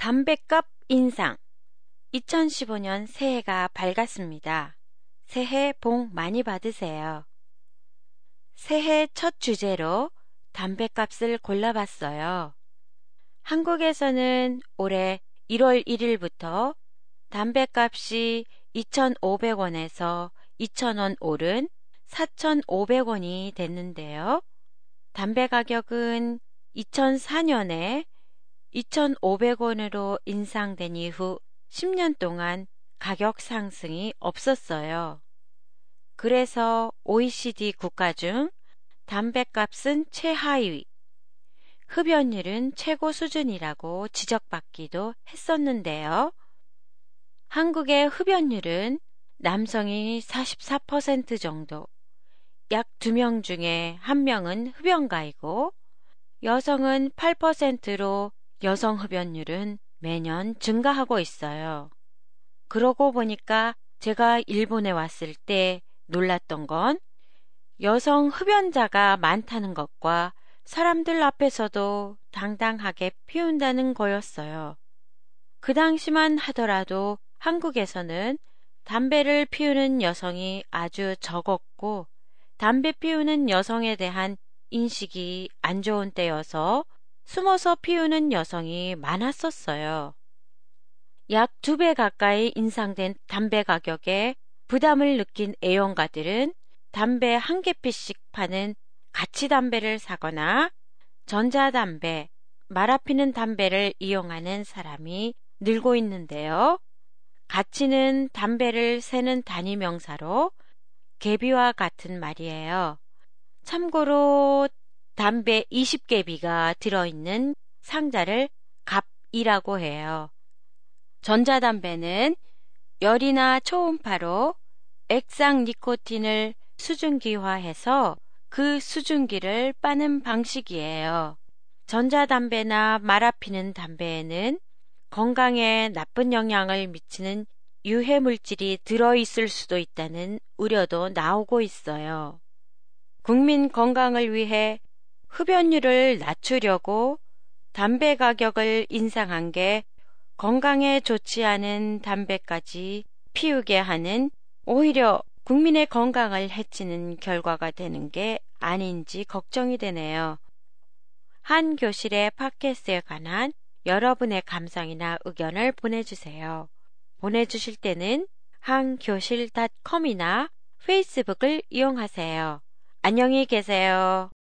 담뱃값 인상. 2015년 새해가 밝았습니다. 새해 복 많이 받으세요. 새해 첫 주제로 담뱃값을 골라봤어요. 한국에서는 올해 1월 1일부터 담뱃값이 2,500원에서 2,000원 오른 4,500원이 됐는데요. 담배 가격은 2004년에 2,500원으로 인상된 이후 10년 동안 가격 상승이 없었어요. 그래서 OECD 국가 중 담뱃값은 최하위, 흡연율은 최고 수준이라고 지적받기도 했었는데요. 한국의 흡연율은 남성이 44% 정도, 약 2명 중에 1명은 흡연가이고 여성은 8%로 여성 흡연율은 매년 증가하고 있어요. 그러고 보니까 제가 일본에 왔을 때 놀랐던 건 여성 흡연자가 많다는 것과 사람들 앞에서도 당당하게 피운다는 거였어요. 그 당시만 하더라도 한국에서는 담배를 피우는 여성이 아주 적었고 담배 피우는 여성에 대한 인식이 안 좋은 때여서 숨어서 피우는 여성이 많았었어요. 약 2배 가까이 인상된 담배 가격에 부담을 느낀 애용가들은 담배 한 개피씩 파는 가치담배를 사거나 전자담배, 말아피는 담배를 이용하는 사람이 늘고 있는데요. 가치는 담배를 세는 단위 명사로 개비와 같은 말이에요. 참고로 담배 20개비가 들어있는 상자를 갑이라고 해요. 전자담배는 열이나 초음파로 액상 니코틴을 수증기화해서 그 수증기를 빠는 방식이에요. 전자담배나 말아피는 담배에는 건강에 나쁜 영향을 미치는 유해물질이 들어있을 수도 있다는 우려도 나오고 있어요. 국민 건강을 위해 흡연율을 낮추려고 담배 가격을 인상한 게 건강에 좋지 않은 담배까지 피우게 하는 오히려 국민의 건강을 해치는 결과가 되는 게 아닌지 걱정이 되네요. 한 교실의 팟캐스트에 관한 여러분의 감상이나 의견을 보내주세요. 보내주실 때는 한교실.com이나 페이스북을 이용하세요. 안녕히 계세요.